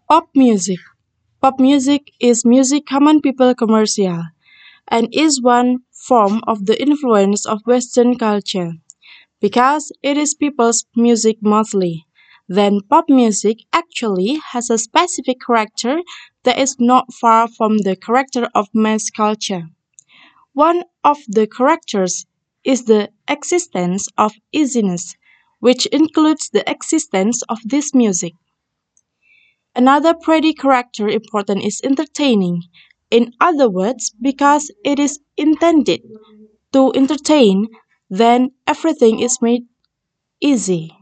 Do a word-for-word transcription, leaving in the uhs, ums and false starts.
Pop music. Pop music is music common people commercial and is one form of the influence of Western culture. Because it is people's music mostly, then pop music actually has a specific character that is not far from the character of mass culture. One of the characters is the existence of easiness, which includes the existence of this music. Another pretty character important is entertaining. In other words, because it is intended to entertain, then everything is made easy.